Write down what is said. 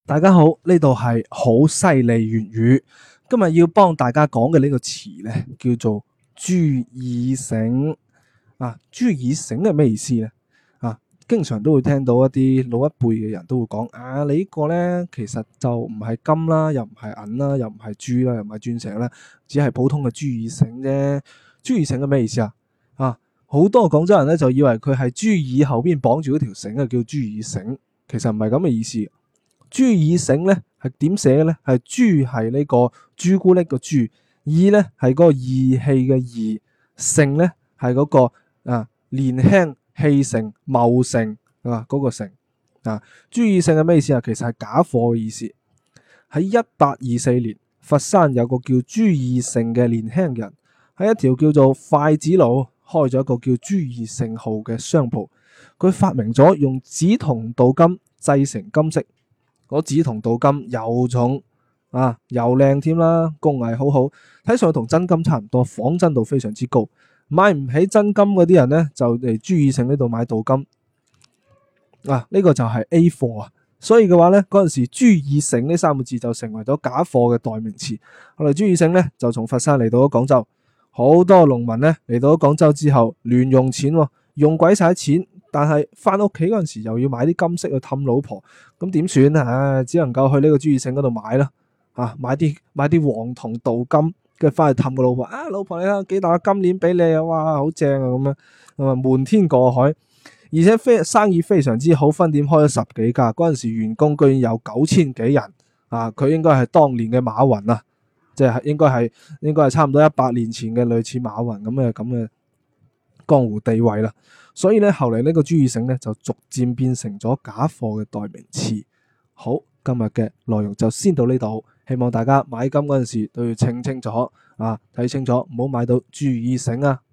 大家好，呢度係好犀利粵語。今日要幫大家講嘅呢個詞呢，叫做注意醒。注意醒係咩意思呢？經常都會聽到一啲老一輩嘅人都會講，你呢個呢，其實就唔係金啦，又唔係銀啦，又唔係珠啦，又唔係鑽石啦，只係普通嘅注意醒啫。注意醒係咩意思啊？好多廣州人呢，就以為佢係豬耳後邊綁住嗰條繩啊，叫注意醒，其實唔係咁嘅意思。注意醒咧係點寫嘅咧？係豬係呢個朱古力個朱，意咧係嗰個義氣嘅義，盛咧係嗰個年輕氣盛茂盛嗰個盛。注意醒係咩意思啊？其實係假貨嘅意思。喺1824年，佛山有個叫朱義盛嘅年輕人喺一條叫做筷子路開咗一個叫朱義盛號嘅商鋪。佢發明咗用紫銅鍍金製成金飾。嗰紫銅鍍金又重又靚添啦，工藝好好，睇上去同真金差唔多，仿真度非常之高。買唔起真金嗰啲人呢，就嚟注意醒呢度買鍍金。呢個就係 A 貨啊。所以嘅話呢，嗰陣時注意醒呢3個字就成為咗假貨嘅代名詞。我哋注意醒呢，就從佛山嚟到咗廣州，好多農民呢嚟到咗廣州之後亂用錢，用鬼晒錢。但係翻屋企嗰陣時又要買啲金飾去氹老婆，咁點算啊？只能夠去呢個注意醒嗰度買啦，買啲黃銅鍍金，跟住翻去氹個老婆。老婆你睇幾大個金鏈俾你啊！哇，好正啊！咁樣瞞天過海，而且生意非常之好，分店開咗10幾家，嗰陣時員工居然有9000幾人。佢應該係當年嘅馬雲啊，即係應該係差唔多100年前嘅類似馬雲咁嘅江湖地位啦。所以咧，後嚟呢個注意醒咧就逐漸變成咗假貨嘅代名詞。好，今日嘅內容就先到呢度，希望大家買金嗰陣時都要清楚睇清楚，唔好買到注意醒啊！